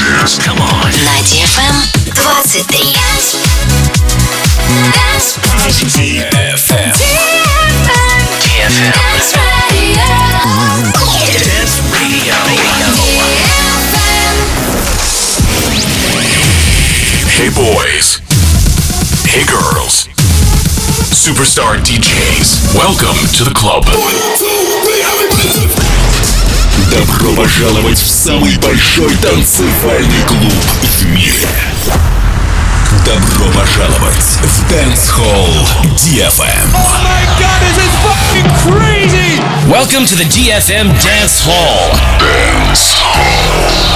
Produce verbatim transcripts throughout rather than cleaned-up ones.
dance. Come on. На ди эф эм двадцать три. ди эф эм. ди эф эм. Dance Radio. Hey boys. Hey girls. Superstar ди джейс. Welcome to the club. Добро пожаловать в самый большой танцевальный клуб в мире. Добро пожаловать в Dance Hall ди эф эм. Oh my god, this is fucking crazy! Welcome to the ди эф эм Dance Hall. Dance Hall.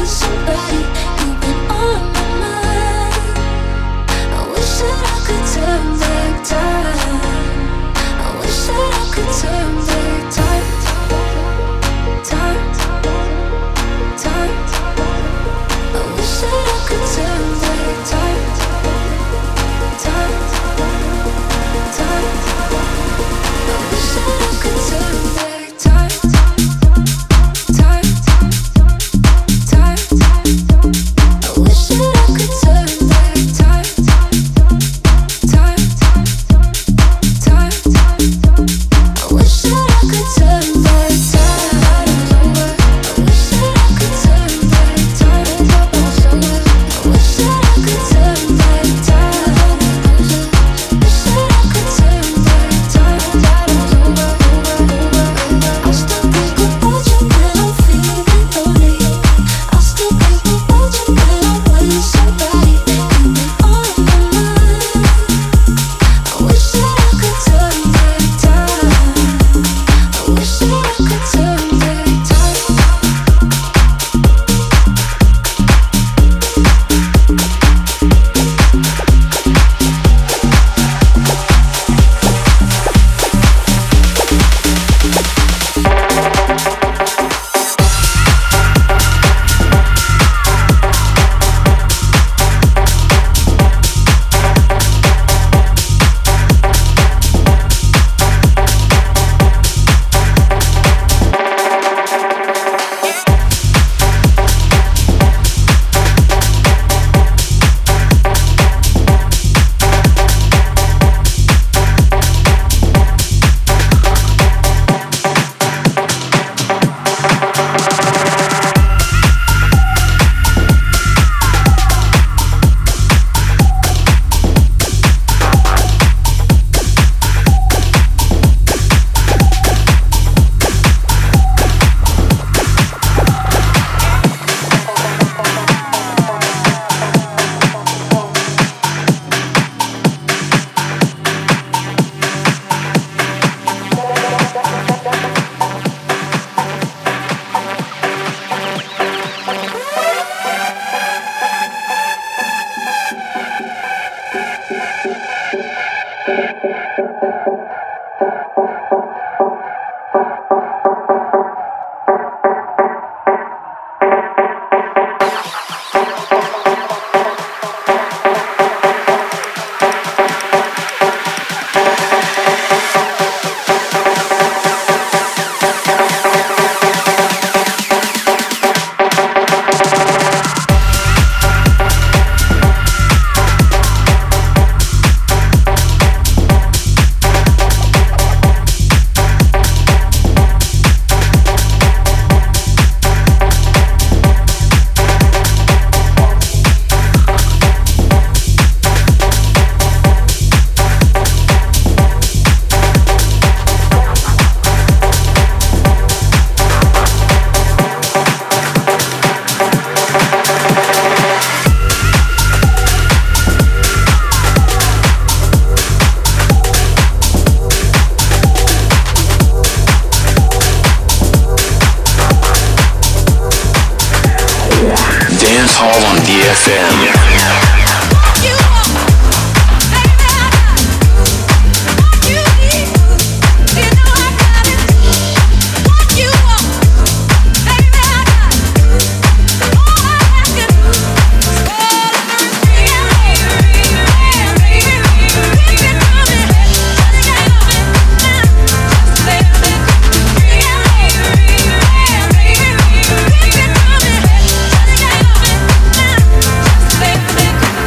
эф эм. Baby,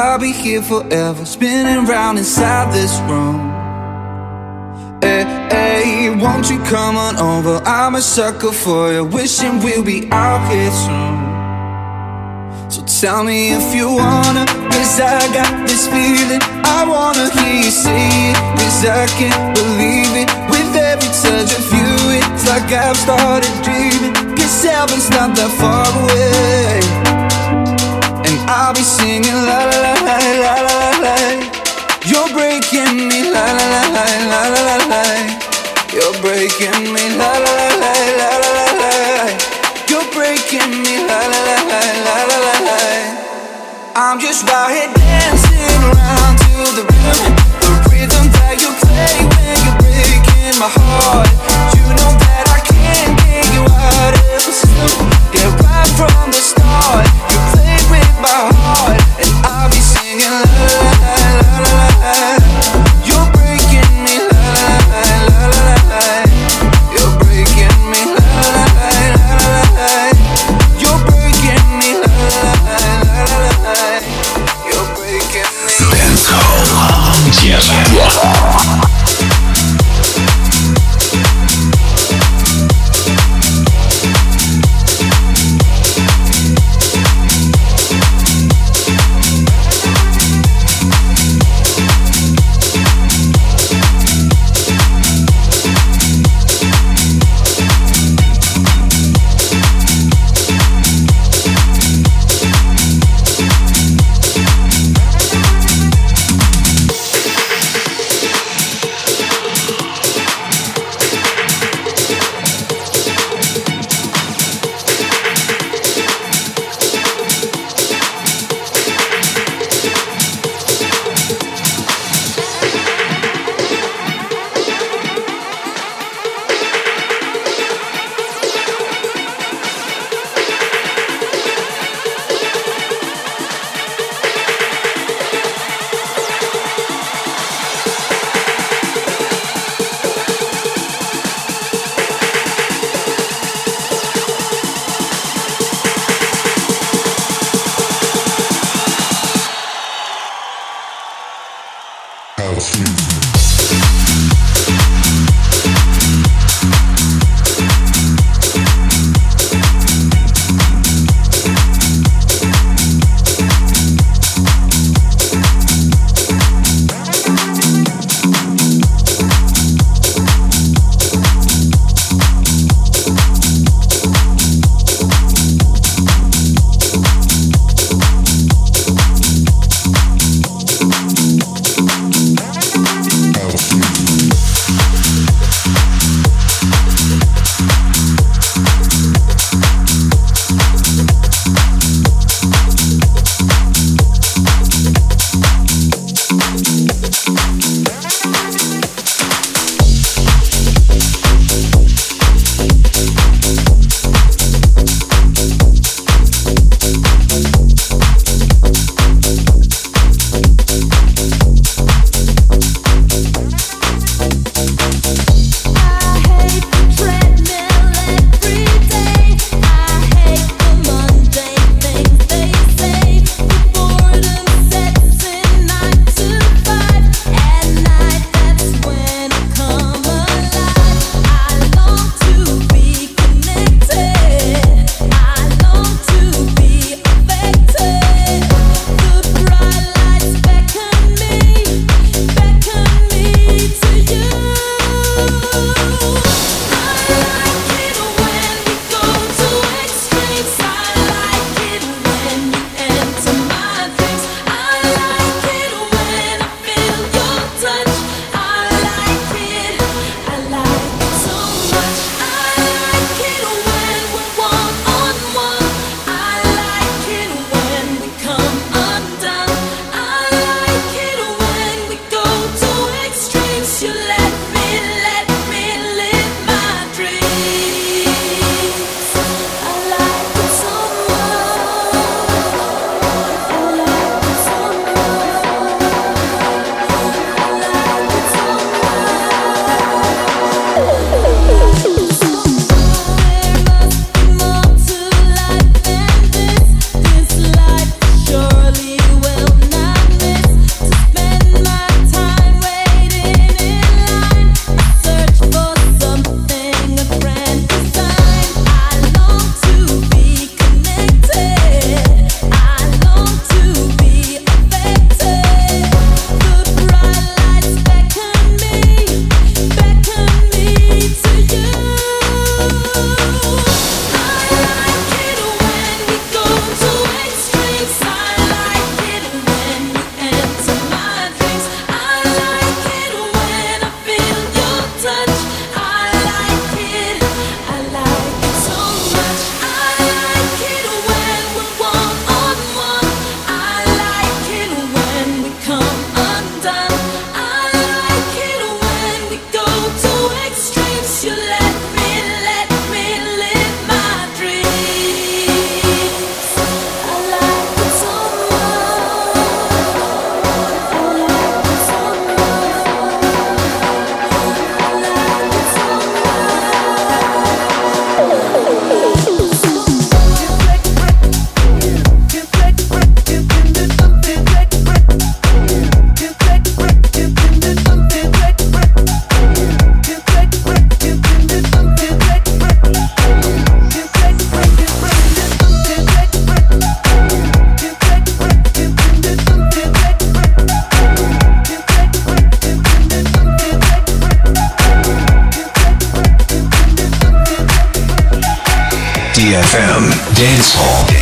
I'll be here forever, spinning round inside this room. Hey, hey, won't you come on over? I'm a sucker for you, wishing we'll be out here soon. So tell me if you wanna, cause I got this feeling. I wanna hear you say it, cause I can't believe it. With every touch of you, it's like I've started dreaming. Cause heaven's not that far away, and I'll be singing la la la la la la la. You're breaking me la la la la la la la la. You're breaking me la la la la la la la la. You're breaking me la la la la la la la la. I'm just out here dancing around to the rhythm, the rhythm that you play when you're breaking my heart. You know that I can't get you out of the system. Yeah, right from the start, you played with my heart, and I'll be singing la la la la la la la. You're breaking me la la la la la la la. You're breaking ди эф эм Dance Hall.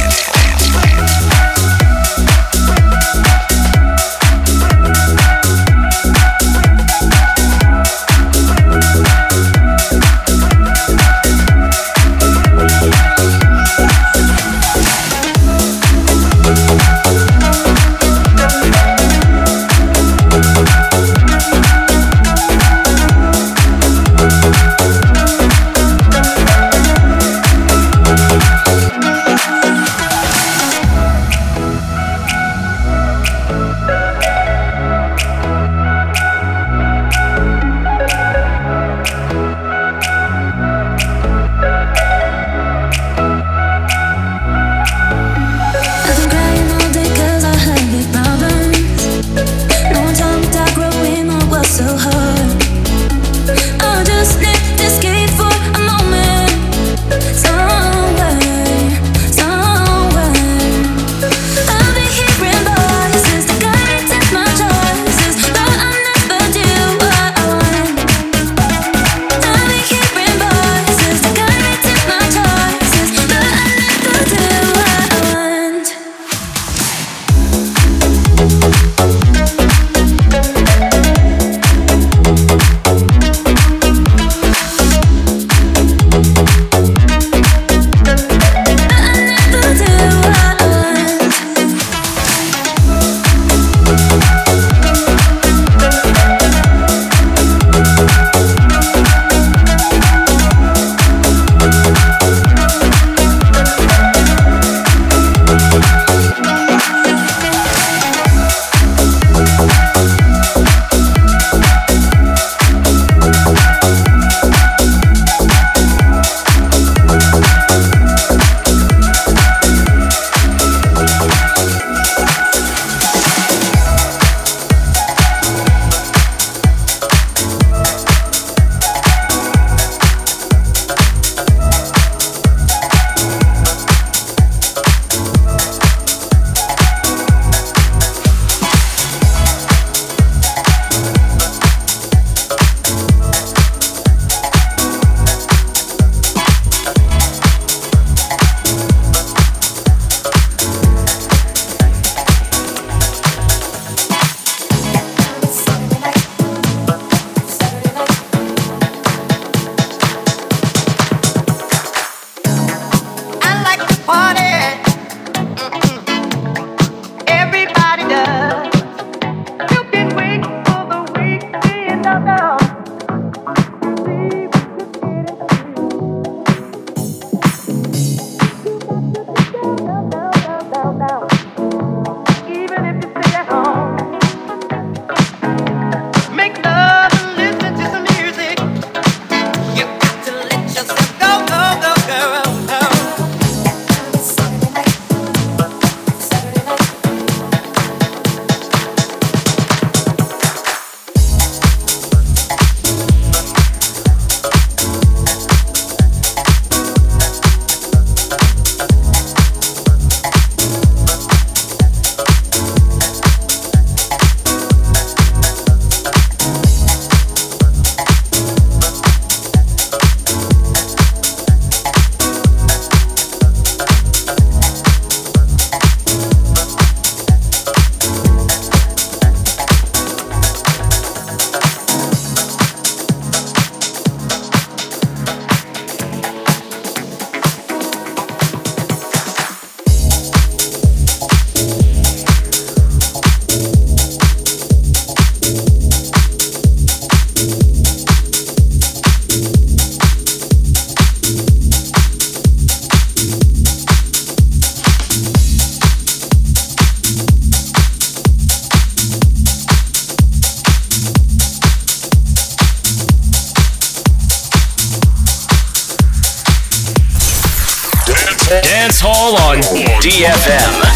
Dance Hall on D F M.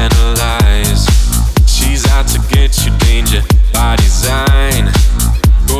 By design, go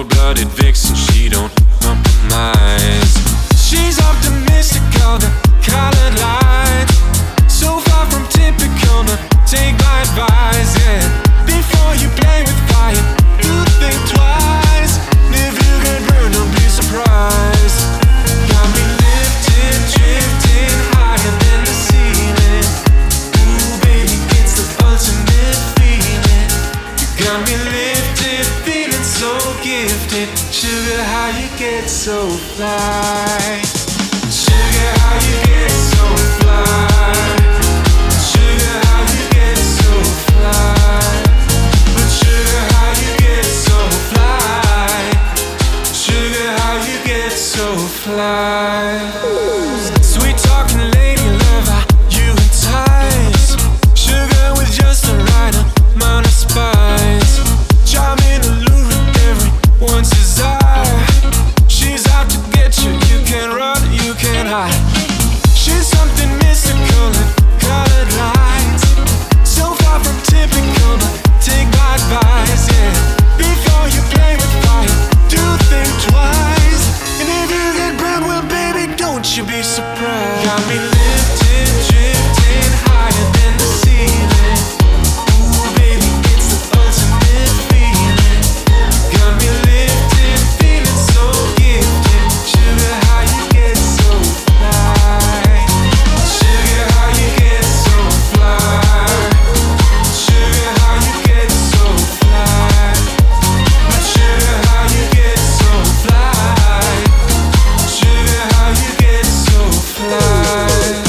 Got me lifted, feeling so gifted. Sugar, how you get so fly? Sugar, how you get so fly? Sugar, how you get so fly? But sugar, how you get so fly? Sugar, how you get so fly? Sweet talking lady lover, you entice. Sugar with just the right amount of spice. Charming, alluring, everyone's desire. She's out to get you, you can't run, you can't hide. She's something mystical and colored lights. So far from typical, but take my advice, yeah. Before you play with fire, do think twice. And if you get burned, well baby, don't you be surprised. Got me lifted, drifting higher than the ceiling. Ooh baby, it's the ultimate feeling. Got me lifted, feeling so gifted. Sugar, how you get so fly? Sugar, how you get so fly? Sugar, how you get so fly? But sugar, how you get so fly? Sugar, how you get so fly?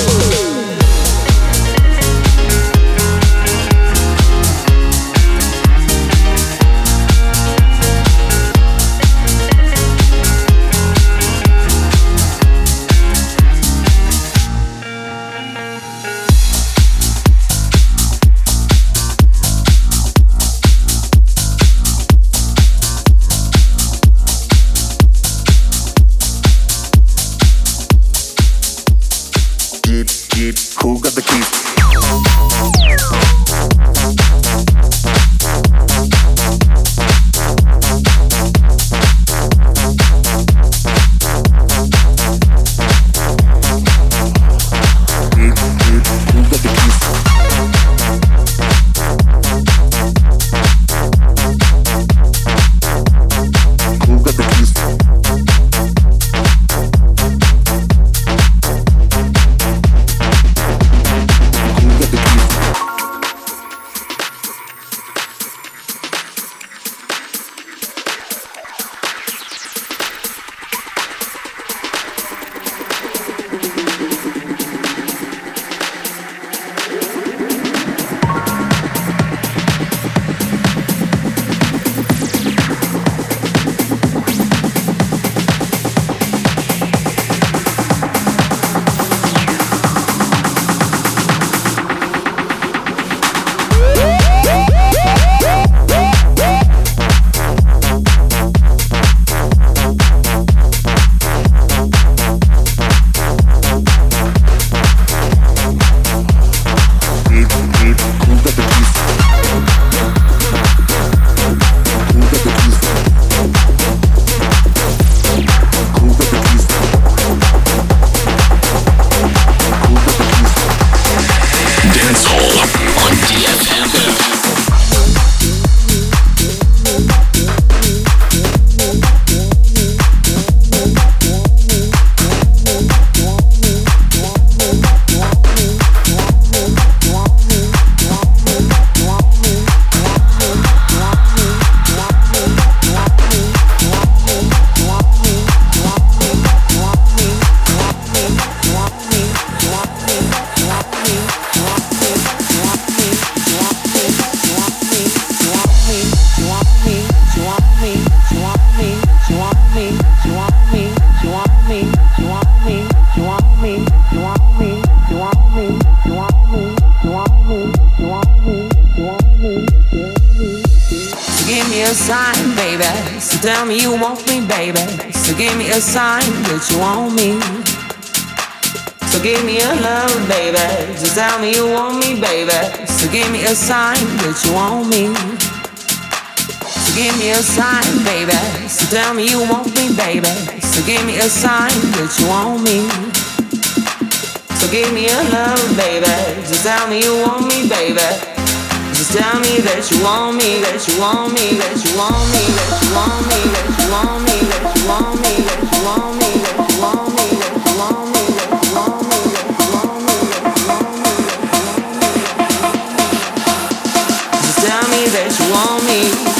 Jeep, Jeep, who got the keys? Jeep, Jeep, who got the keys? Who got the keys? Who got the keys? Jeep, Jeep, who got the keys? Who got the keys? Who got the keys? Who got the keys? Dance Hall on ди эф эм. Give me a sign, baby. So tell me you want me, baby. So give me a sign that you want me. So give me a love, baby. So tell me you want me, baby. So give me a sign that you want me. So give me a sign, baby. So tell me you want me, baby. So give me a sign that you want me. So give me a love, baby. So tell me you want me, baby. Just tell me that you want me, that you want me, that you want me, that you want me, that you want me, that you want me, that you want me, that you want me, that you want me, that you want me, that you want me, that you want me, that you want me. Just tell me me that you want me.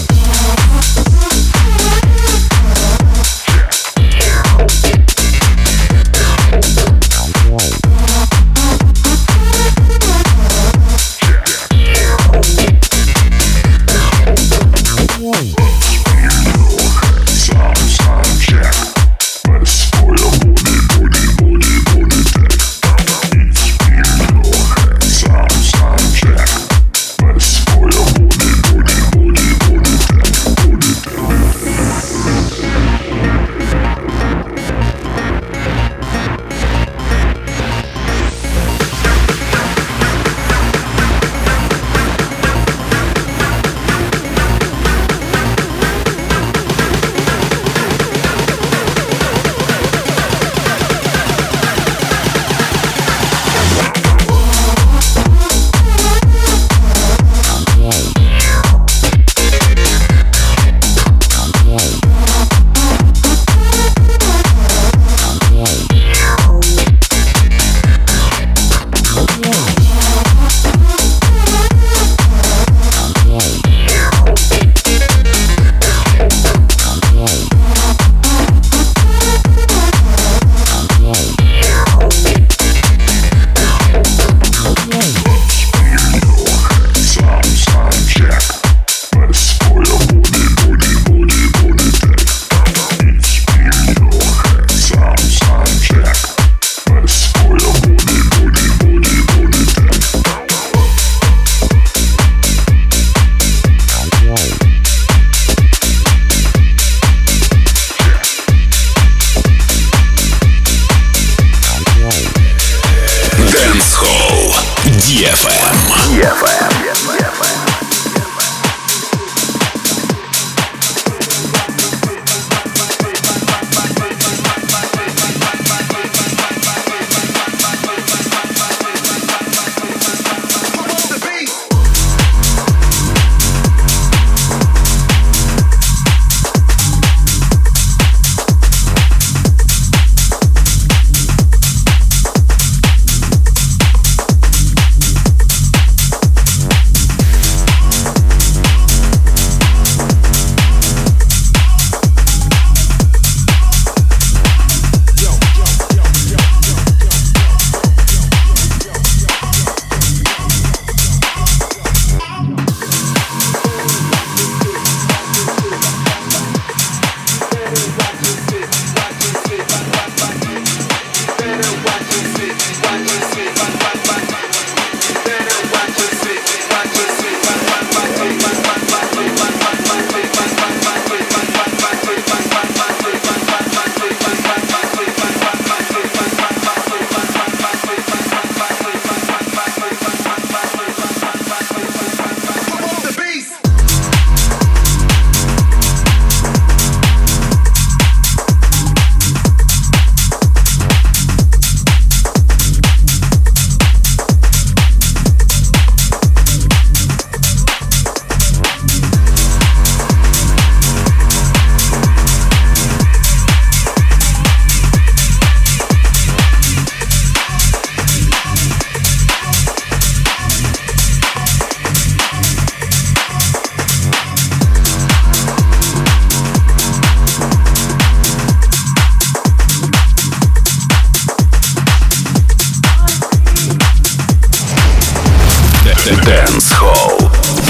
Dancehall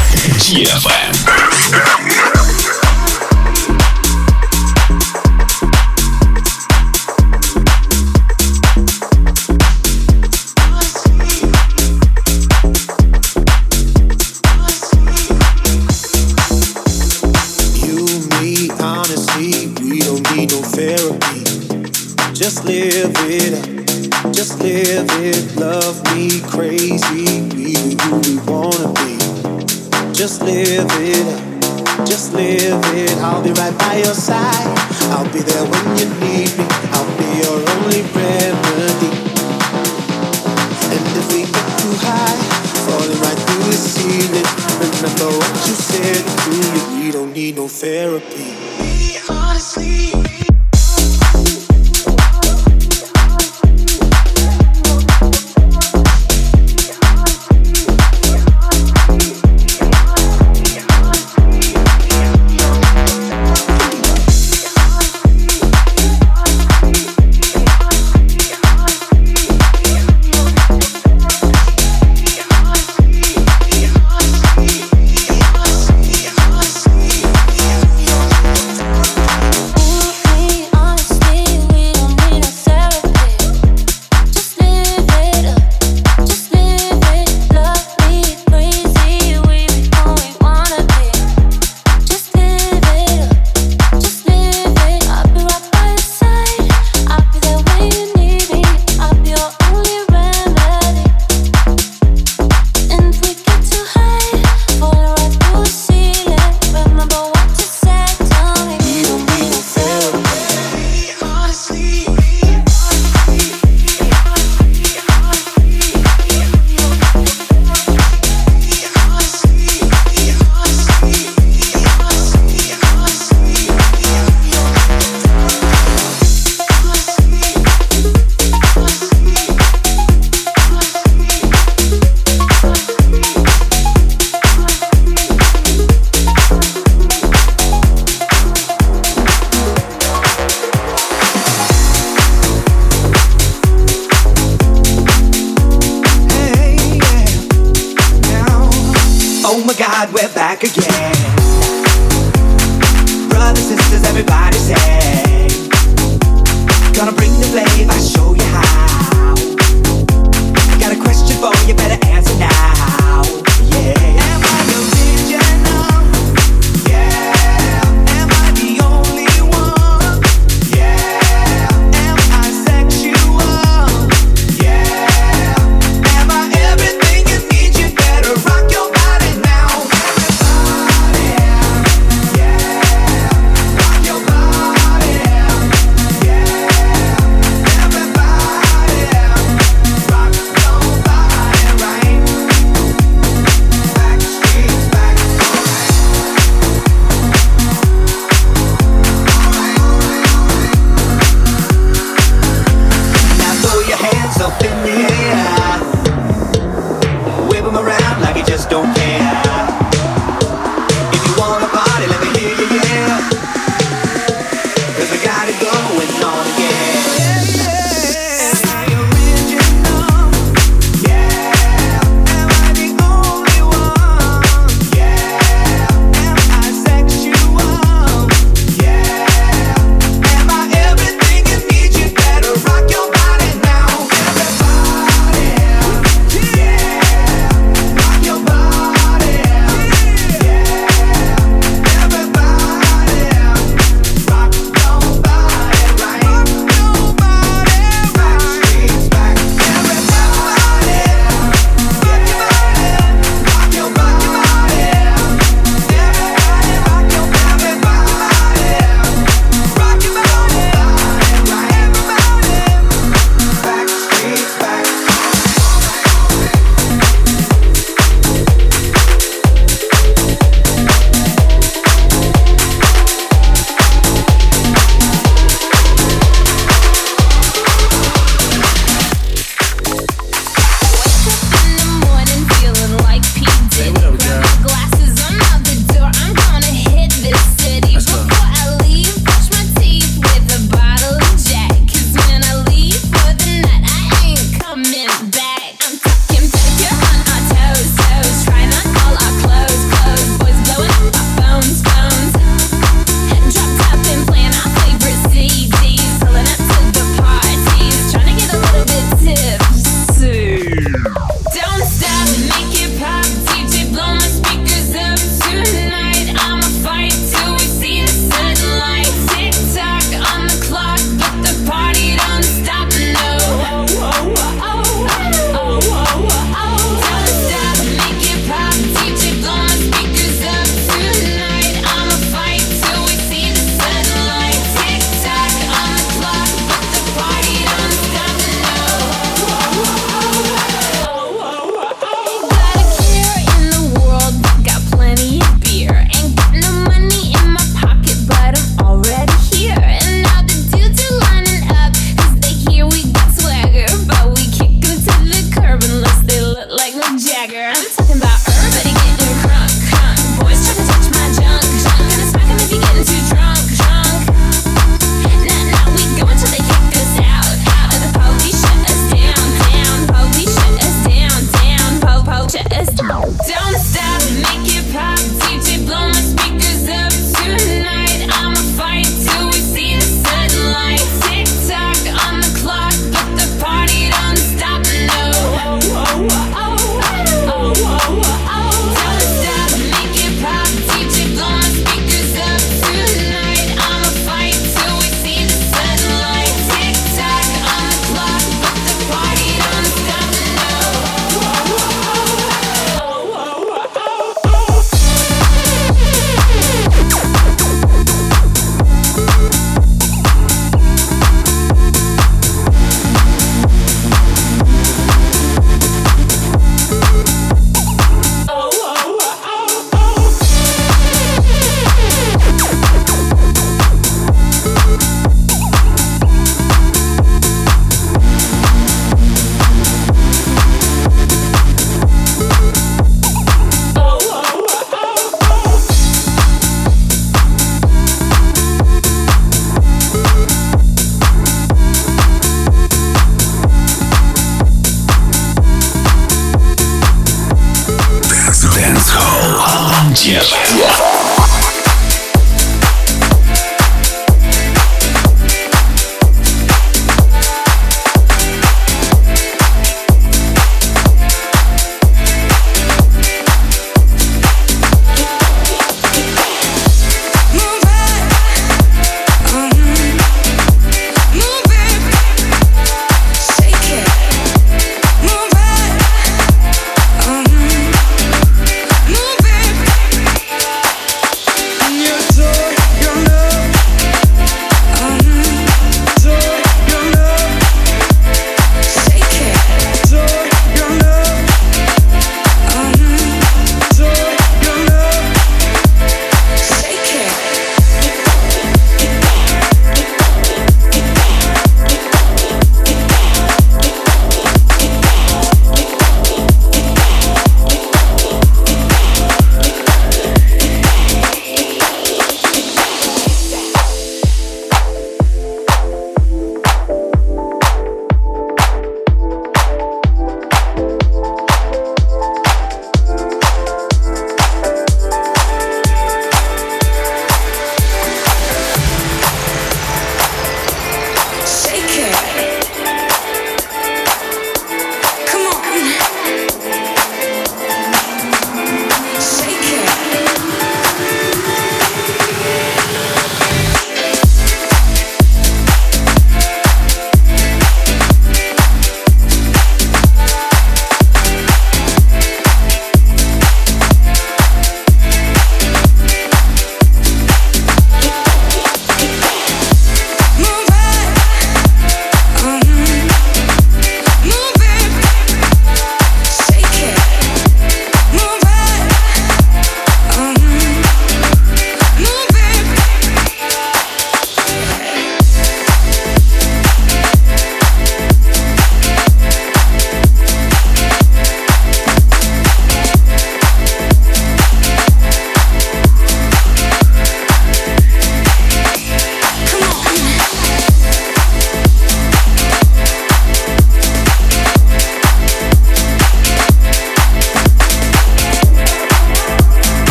ди эф эм. Just live it up, just live it, love me crazy, be who we wanna be. Just live it up, just live it, I'll be right by your side. I'll be there when you need me, I'll be your only remedy. And if we get too high, falling right through the ceiling, remember what you said to you, we don't need no therapy. We honestly God, we're back again. Brothers, sisters, everybody say, gonna bring the flavor, I'll show you how. I got a question for you, better answer now. Yeah. Am I original? Yeah. Am I the only one? Yeah. Am I sexual? Yeah. Am I everything you need? You better rock your body now. Everybody.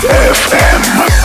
эф эм.